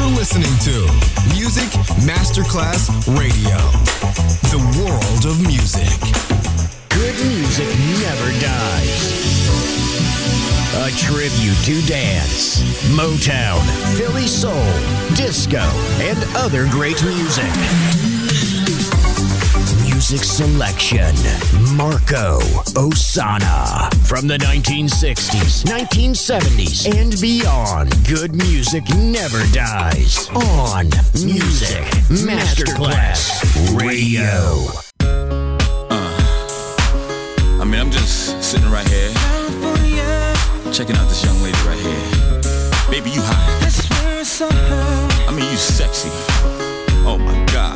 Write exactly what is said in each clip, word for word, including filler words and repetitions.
listening to Music Masterclass Radio, the world of music. Good music never dies. A tribute to dance, Motown, Philly soul, disco, and other great music. Music selection, Marco Ossanna. From the nineteen sixties, nineteen seventies, and beyond, good music never dies. On Music Masterclass Radio. Uh, I mean, I'm just sitting right here, checking out this young lady right here. Baby, you hot. I mean, you sexy. Oh my God.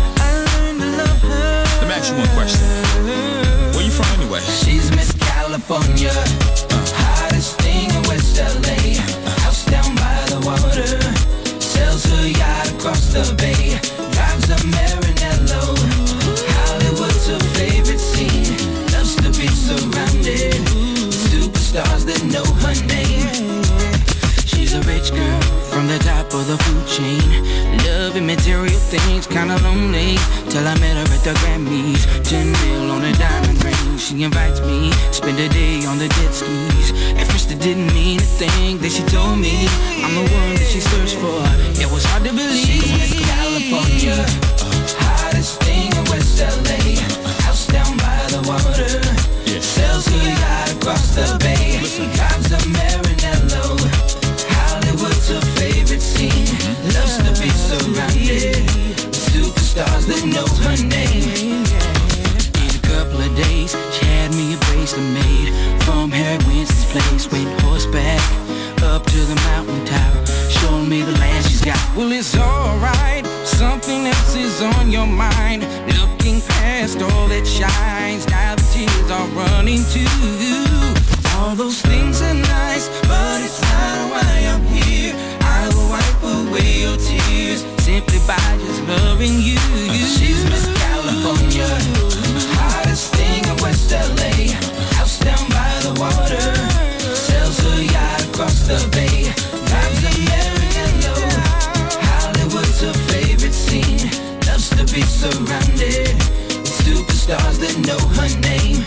Let me ask you one question. Where you from anyway? She's Miss California, uh. hottest thing in West L A. Uh. House down by the water, sells her yacht across the bay. Drives a Maranello, Hollywood's her favorite scene. Loves to be surrounded with superstars that know her name. She's a rich girl from the top of the food chain. Loving material things, kinda lonely. Till I met her at the Grammys. Ten mil on a diamond ring. She invites me, spend a day on the jet skis. At first it didn't mean a thing. Then she told me I'm the one that she searched for. It was hard to believe. She's Miss California, hottest thing in West L A. House down by the water, sells her yacht across the bay. Drives a Maranello, Hollywood's her favorite scene. Loves to be surrounded with superstars that know her name. In a couple of days, she had me a bracelet made from Harry Winston's place. Went horseback up to the mountain top, showing me the land she's got. Well, it's alright, something else is on your mind. Looking past all that shines, now the tears are running too. All those things are nice, but it's not why I'm here. I will wipe away your tears simply by just loving you. She's Miss California, hottest thing in West L A. House down by the water, sells her yacht across the bay. Drives a Maranello, Hollywood's her favorite scene. Loves to be surrounded with superstars that know her name.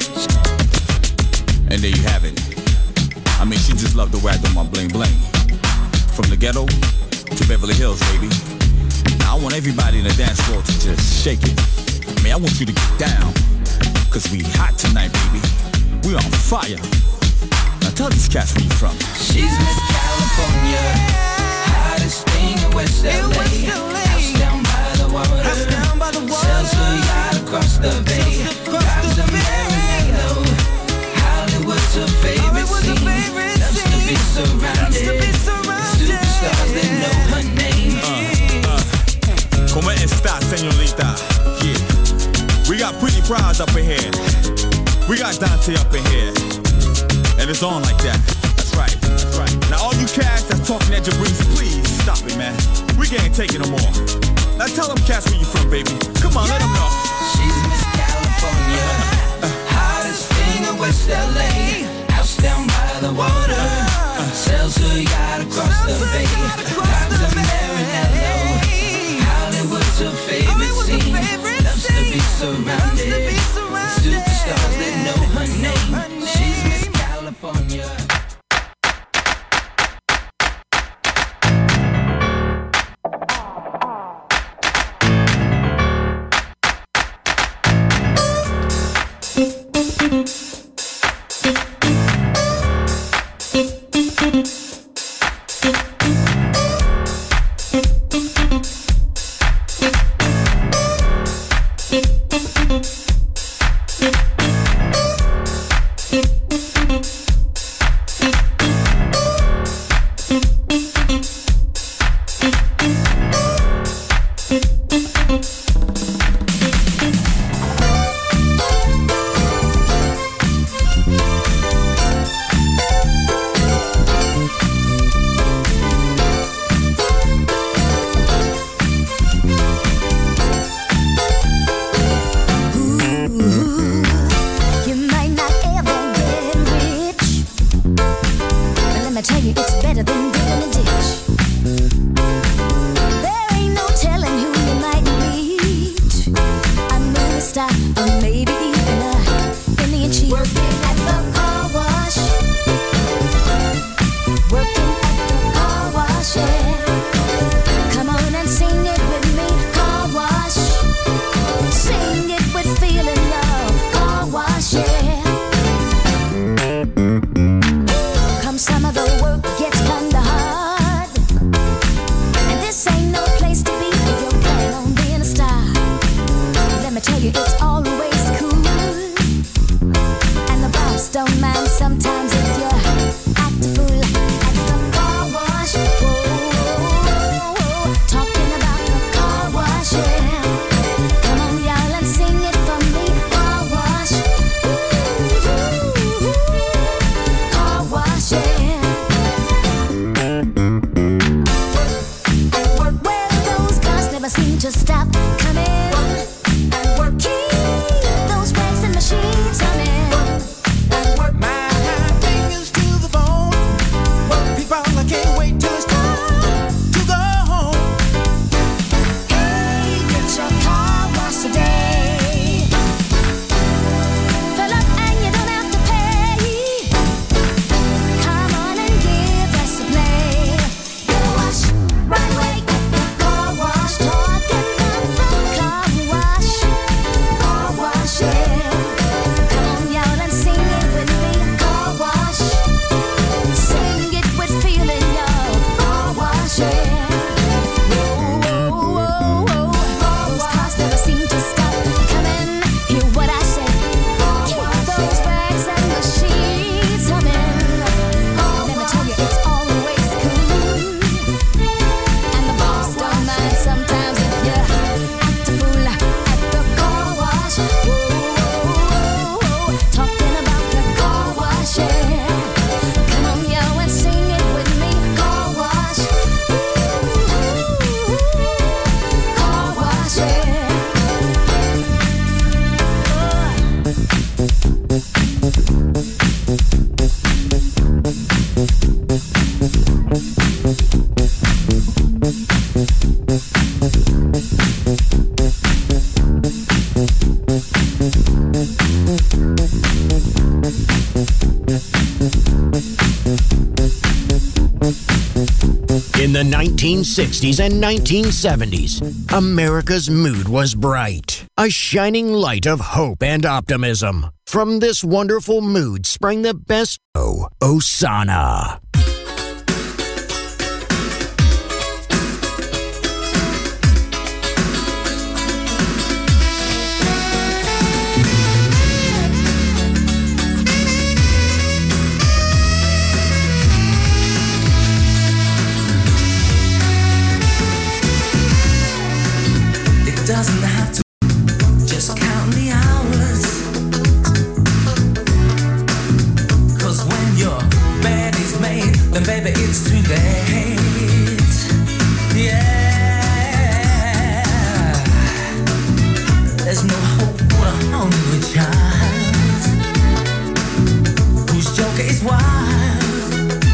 And there you have it. I mean, she just loved the way I do my bling bling. From the ghetto to Beverly Hills, baby. Now I want everybody in the dance floor to just shake it. I mean, I want you to get down, cause we hot tonight, baby. We on fire. Now tell these cats where you from. She's Miss California, hottest thing in West L A. House down by the water, sells her yacht across the bay. Drives a Maranello, Hollywood's her favorite scene. Loves to be surrounded with superstars that know her name. Uh, uh, Como esta, señorita? Yeah. We got Pretty Prize up in here. We got Dante up in here. And it's on like that. That's right, that's right. Now all you cats that's talking at Jabrice, please stop it, man. We can't take it no more. Now tell them cats where you from, baby. Come on, yeah. Let them know. She's Miss California, hottest thing in West L A. House down by the water, sells her yacht across the bay. Drives a Maranello, Hollywood's her favorite scene. Loves to be surrounded with superstars that know her name. She's Miss California. the nineteen sixties and nineteen seventies, America's mood was bright, a shining light of hope and optimism. From this wonderful mood sprang the best of Osana. Doesn't have to just count the hours, 'cause when your bed is made, then baby it's too late. Yeah, there's no hope for a hungry child whose joker is wild.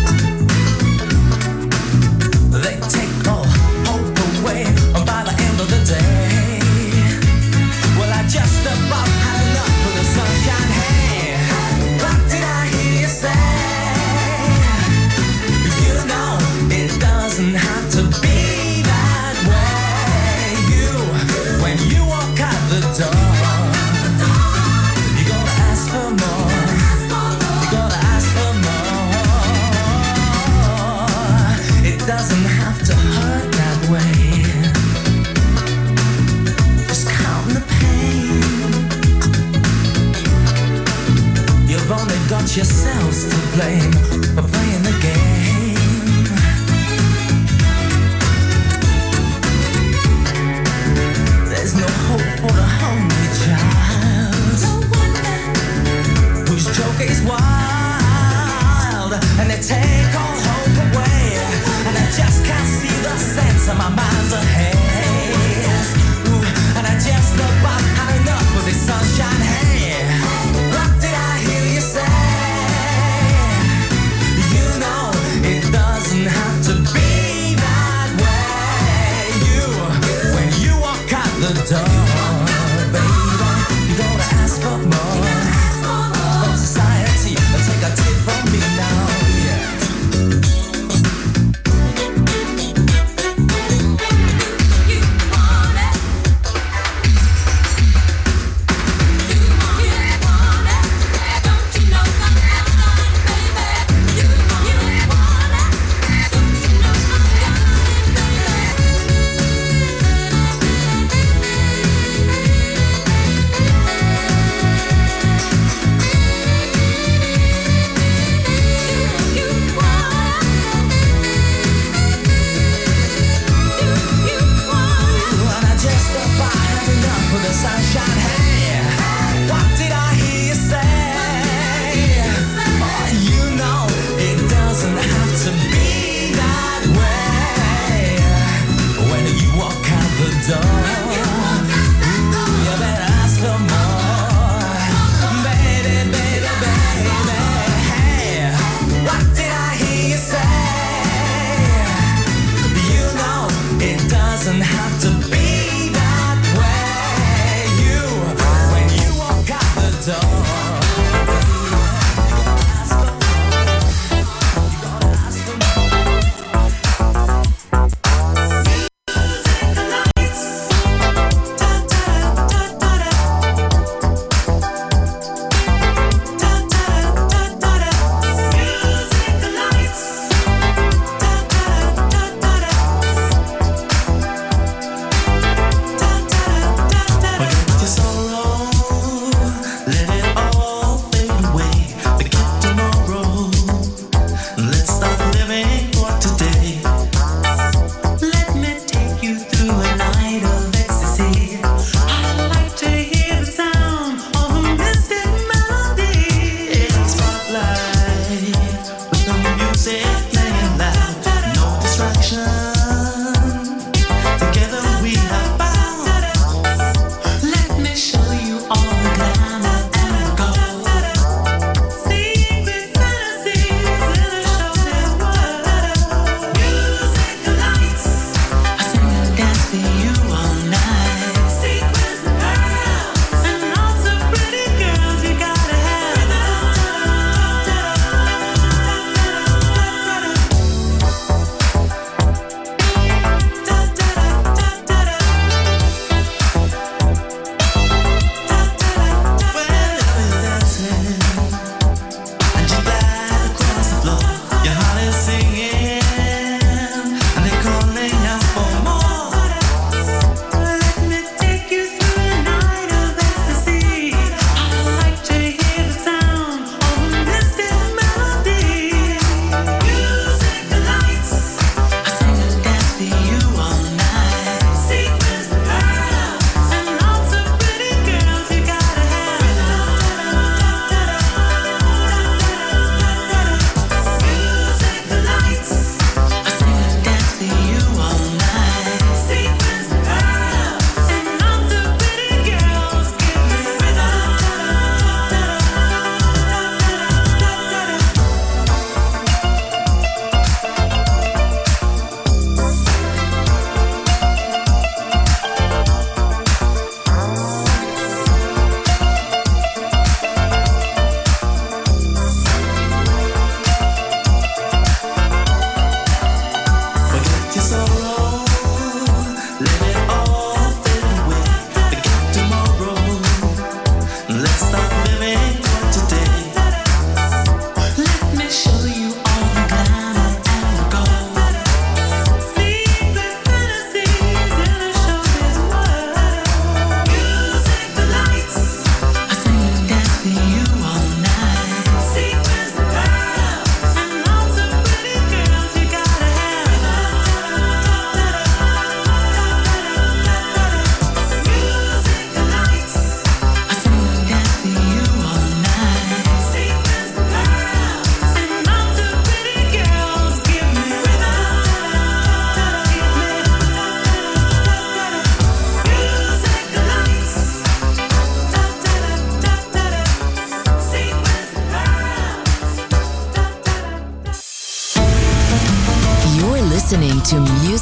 They take all hope away by the end of the day. Just about had enough of the sunshine. Hey, what did I hear you say? You know it doesn't have to be that way. You, when you walk out the door, you gotta ask for more. You gotta ask for more. It doesn't have to hurt that way. You've only got yourselves to blame for playing the game. There's no hope for the hungry child whose joker is wild, and they take all hope away, and I just can't see the sense of my mind's ahead. Ooh, and I just about had enough of this sunshine. Hey, what did I hear you say? You know it doesn't have to be that way. You, when you walk out the door, baby, you gotta ask for more from society. Take a tip from me now, yeah.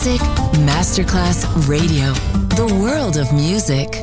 Music Masterclass Radio. The world of music.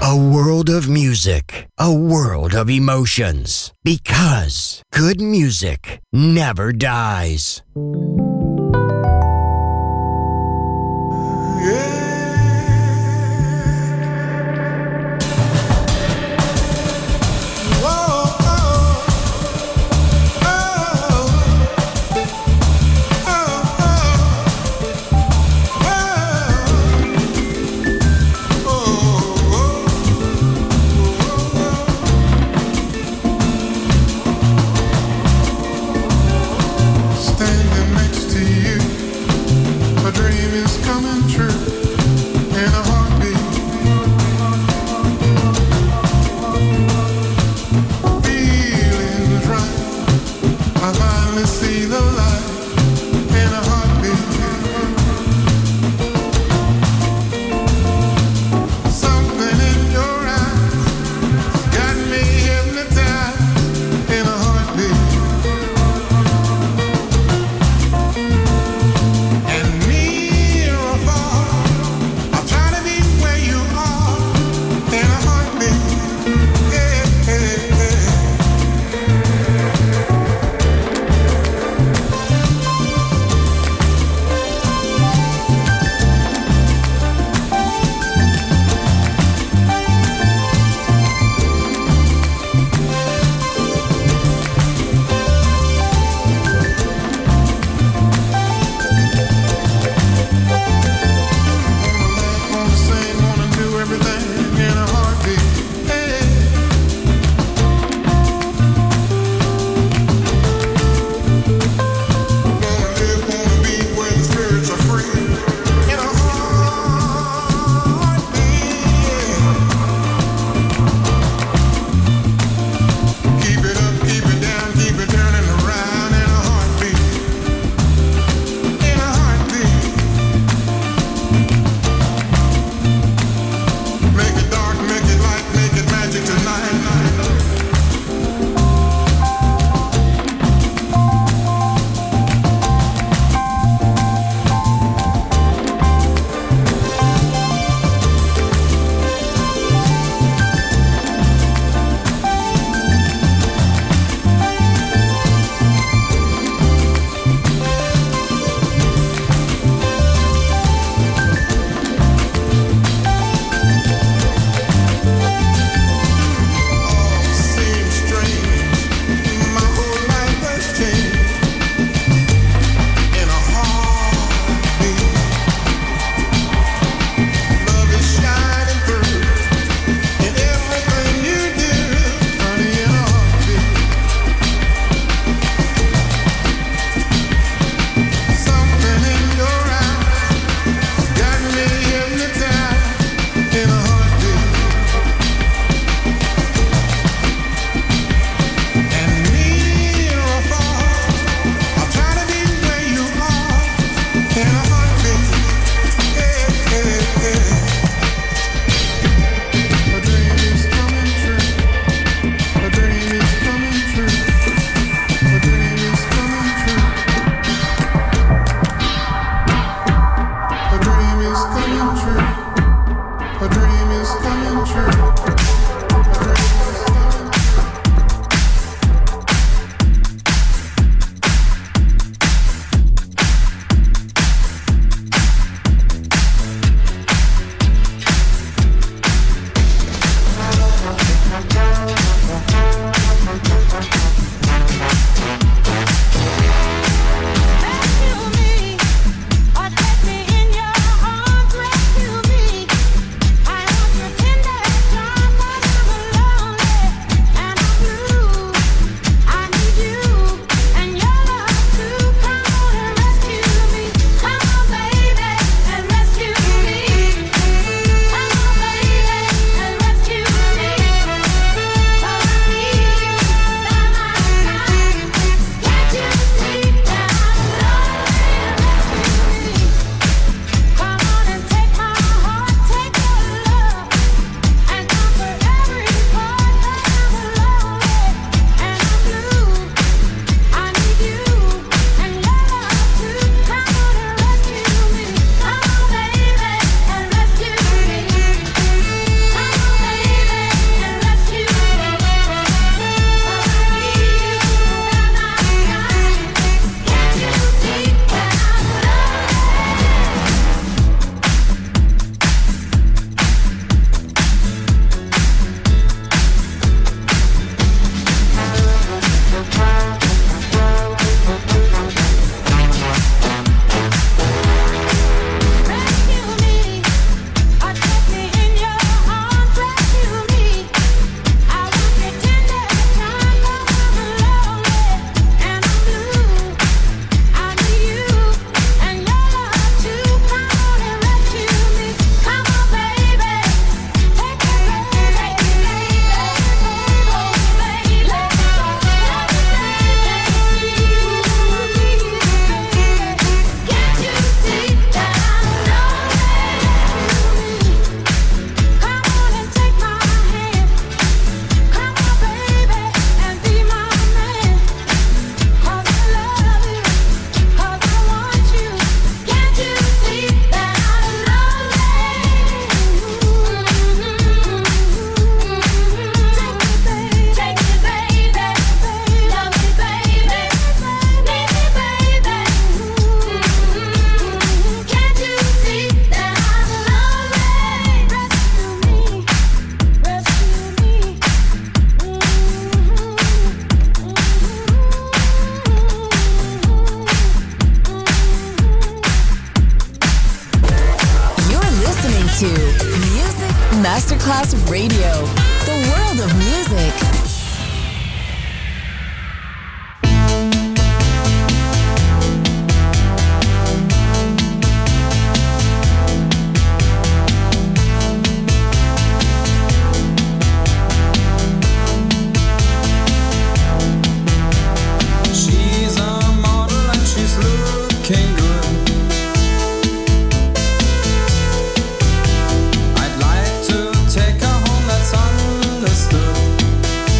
A world of music, a world of emotions. Because good music never dies. Standing next Masterclass Radio, the world of music. I'd like to take her home, that's understood.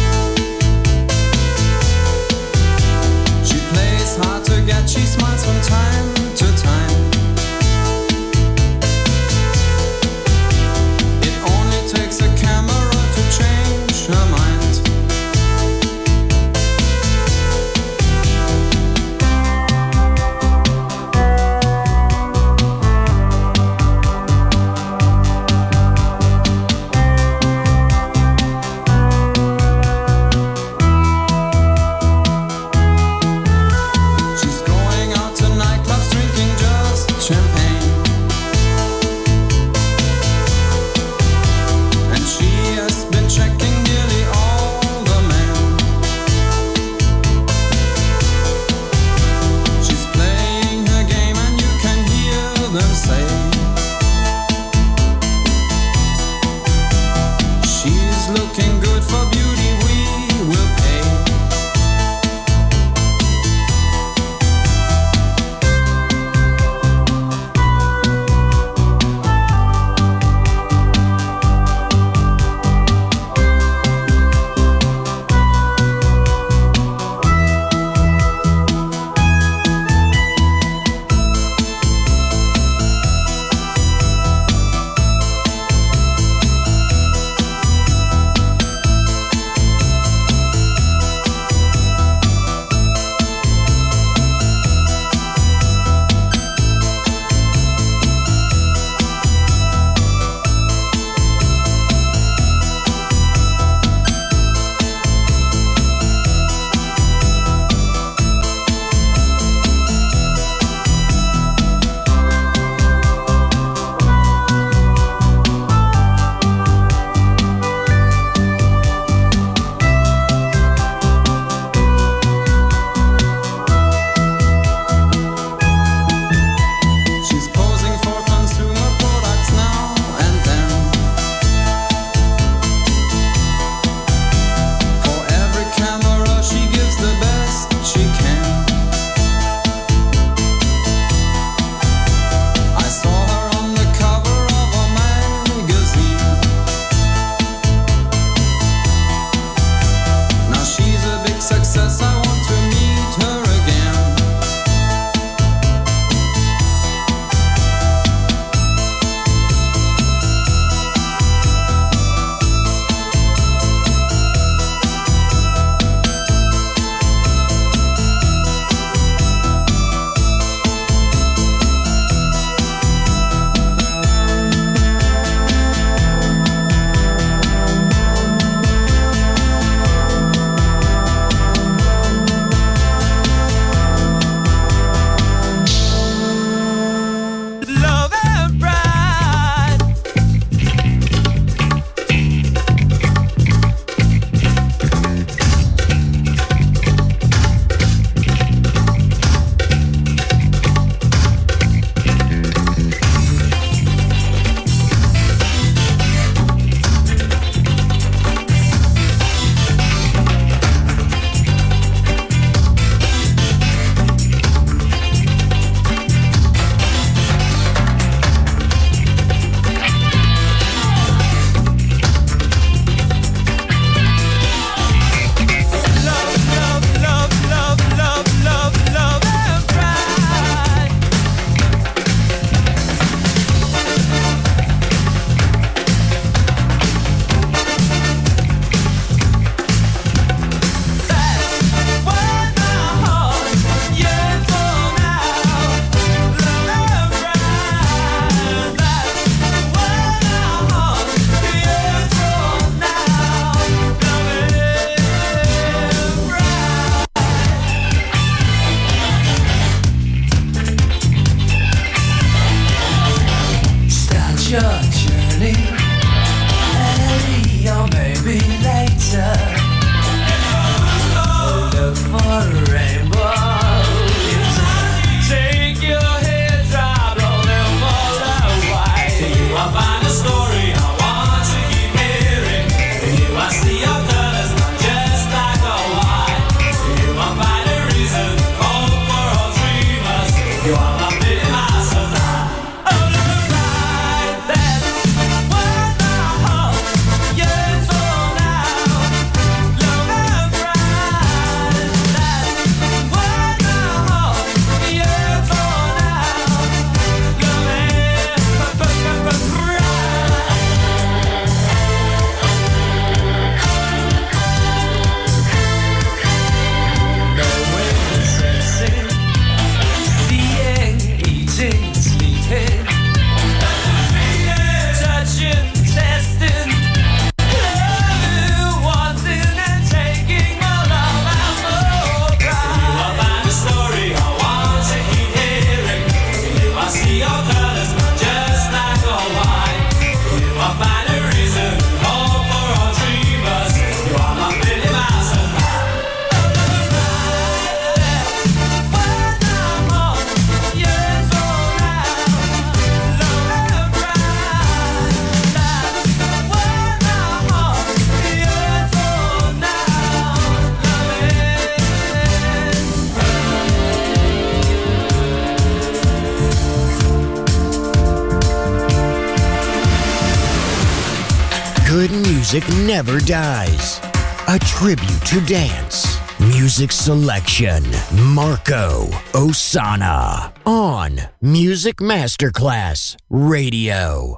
good music never dies. A tribute to dance. Music selection, Marco Ossanna. On Music Masterclass Radio.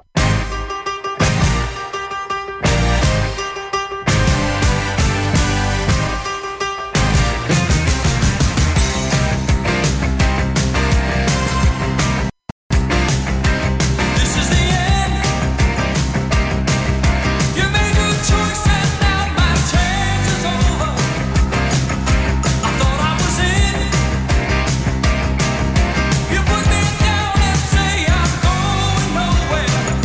You put me down and say I'm going nowhere.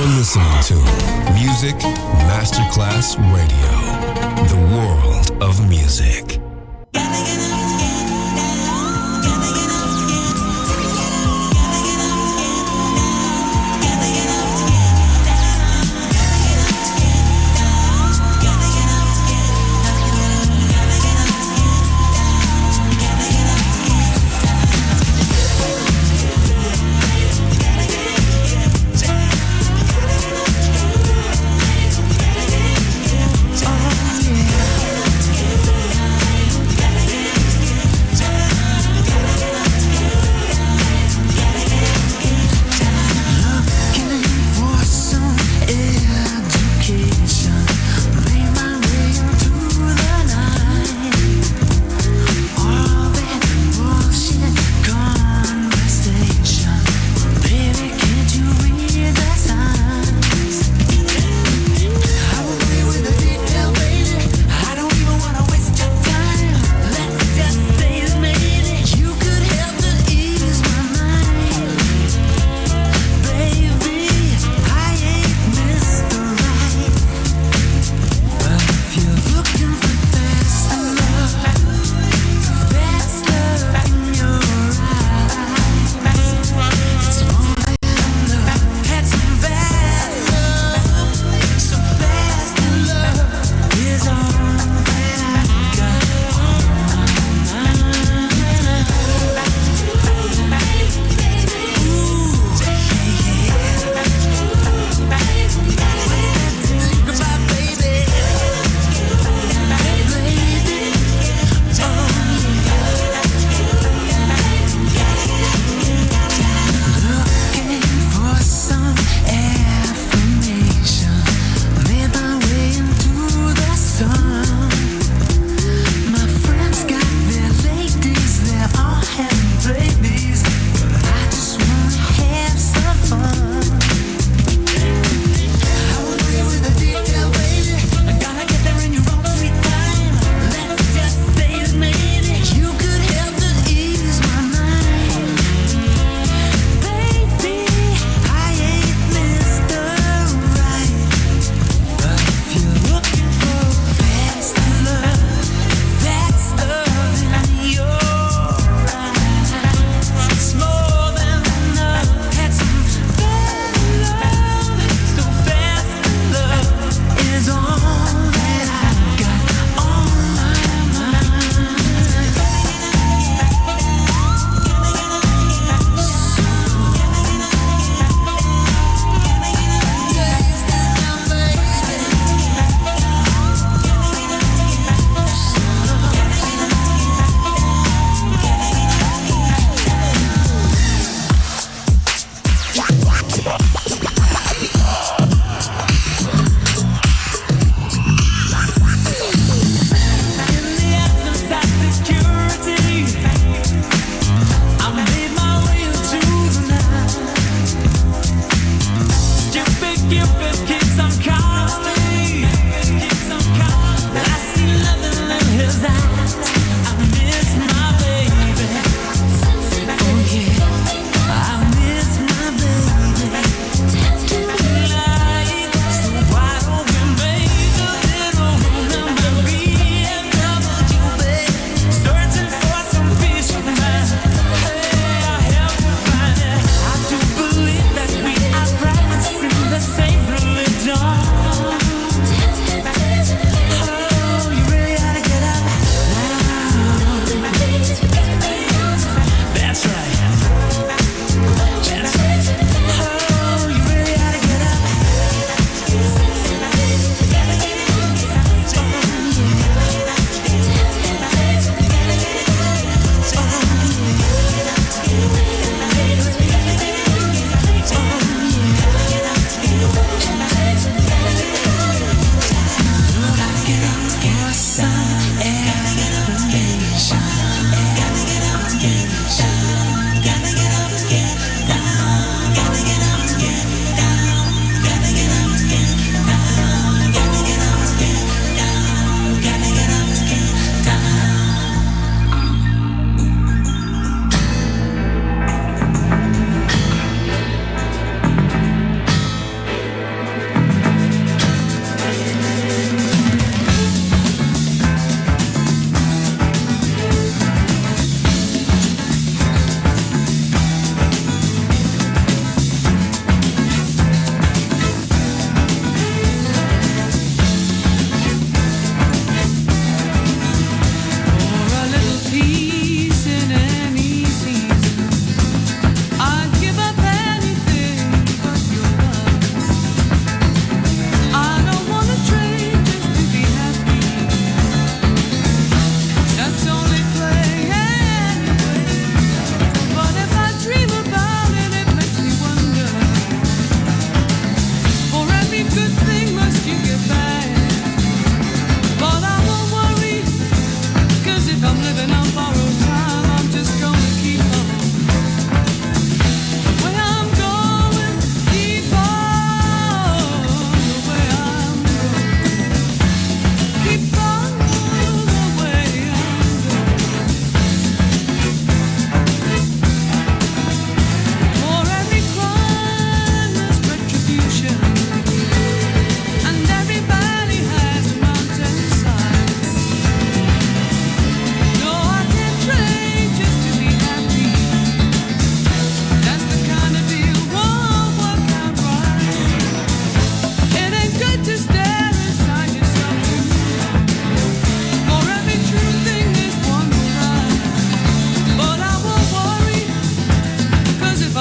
You're listening to Music Masterclass Radio, the world of music.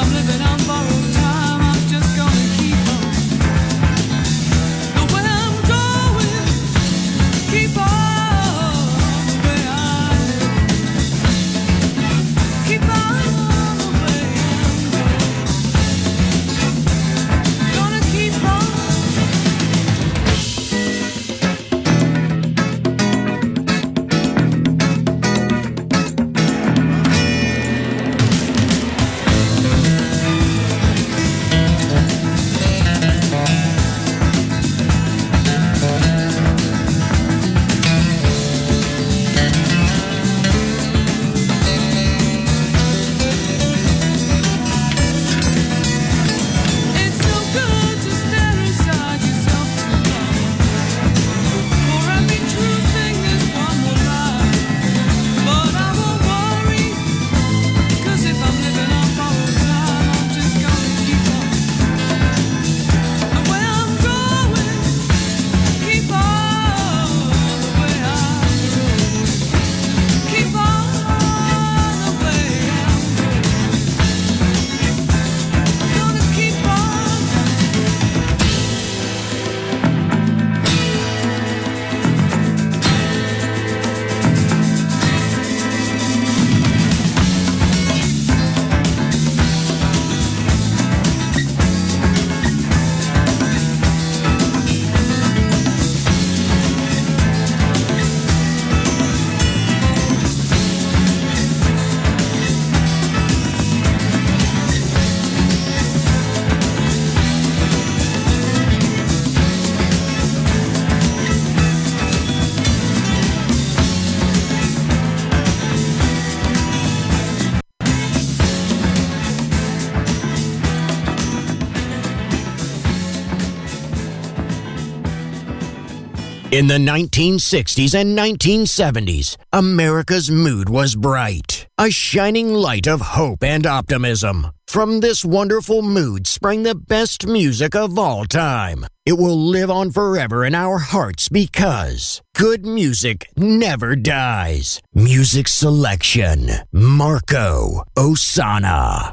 In the nineteen sixties and nineteen seventies, America's mood was bright, a shining light of hope and optimism. From this wonderful mood sprang the best music of all time. It will live on forever in our hearts because good music never dies. Music selection, Marco Ossanna.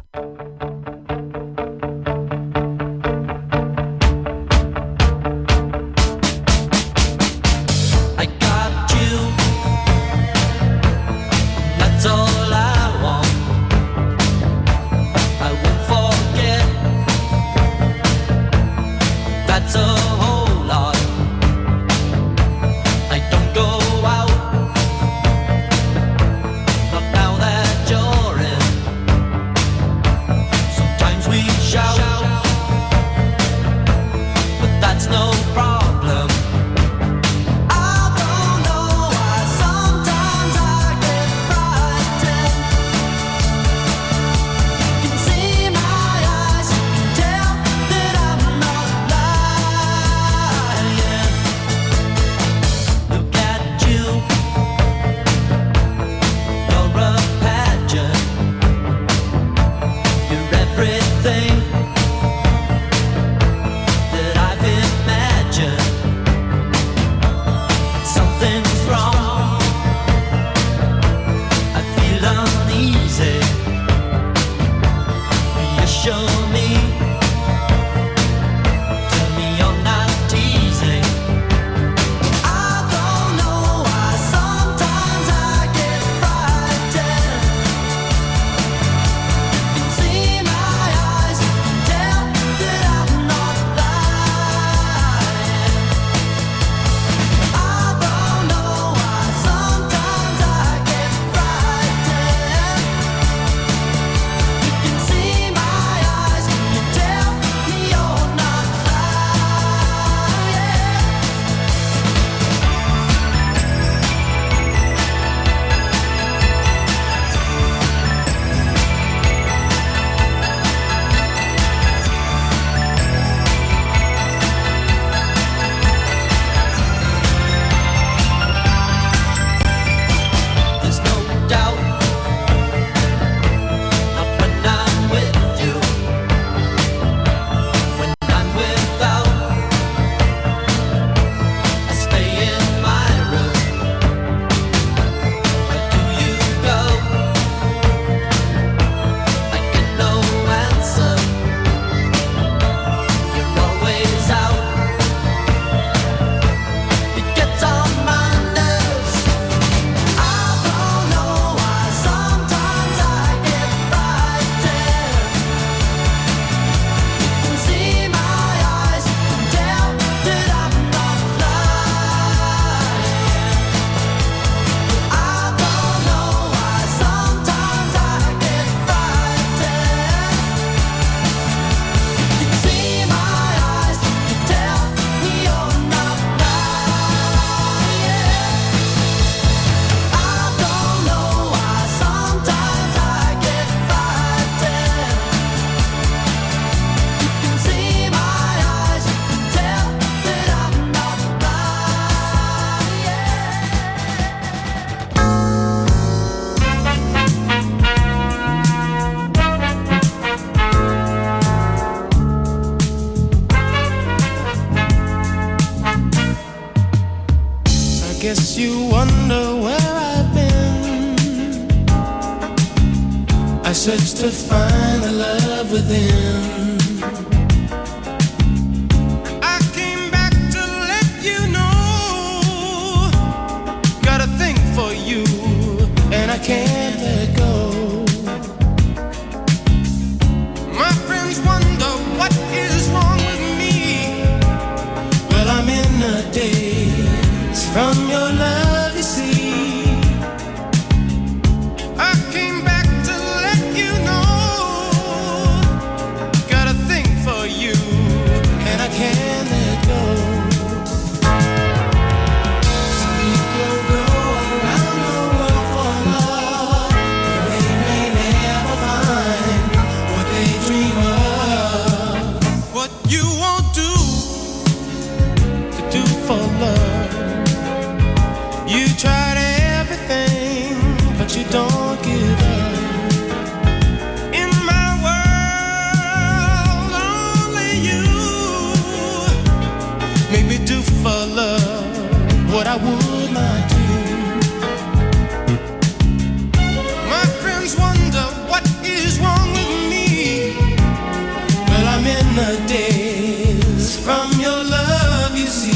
See my eyes search to find the love within. I came back to let you know, got a thing for you, and I can't let go. My friends wonder what is wrong with me. Well, I'm in a daze from your love, you see. You don't give up. In my world, only you make me do for love what I would not do. My friends wonder what is wrong with me. Well, I'm in a daze from your love, you see.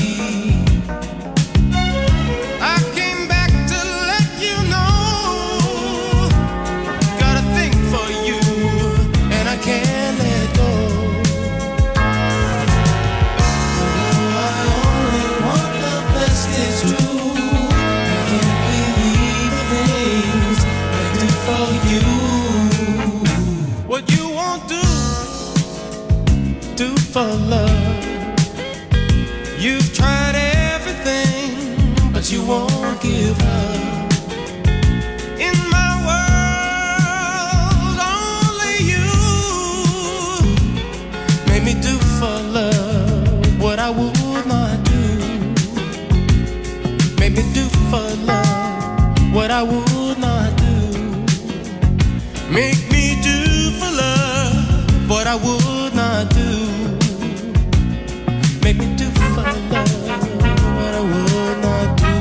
For love, you've tried everything, but you won't give up. In my world, only you made me do for love what I would not do. Made me do for love what I would not do. Make me do for love what I would not do. Make me do for love what I would not do.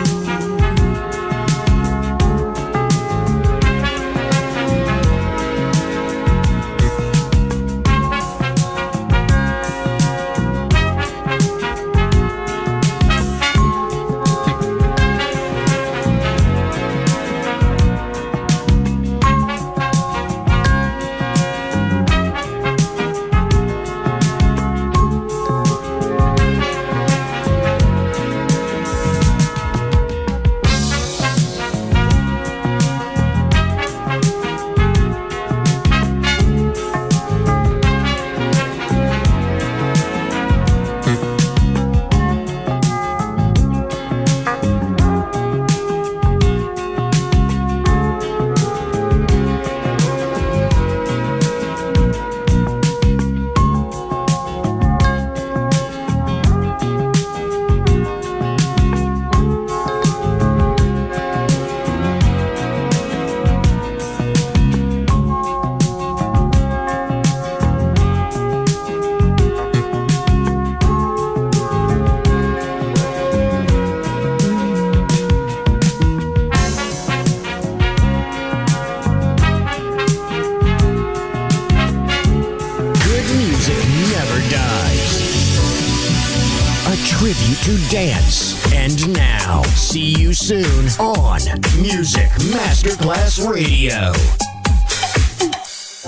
To dance. And now, see you soon on Music Masterclass Radio.